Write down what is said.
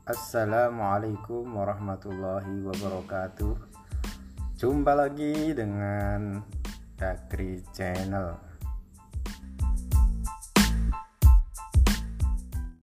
Assalamualaikum warahmatullahi wabarakatuh. Jumpa lagi dengan Dakri Channel.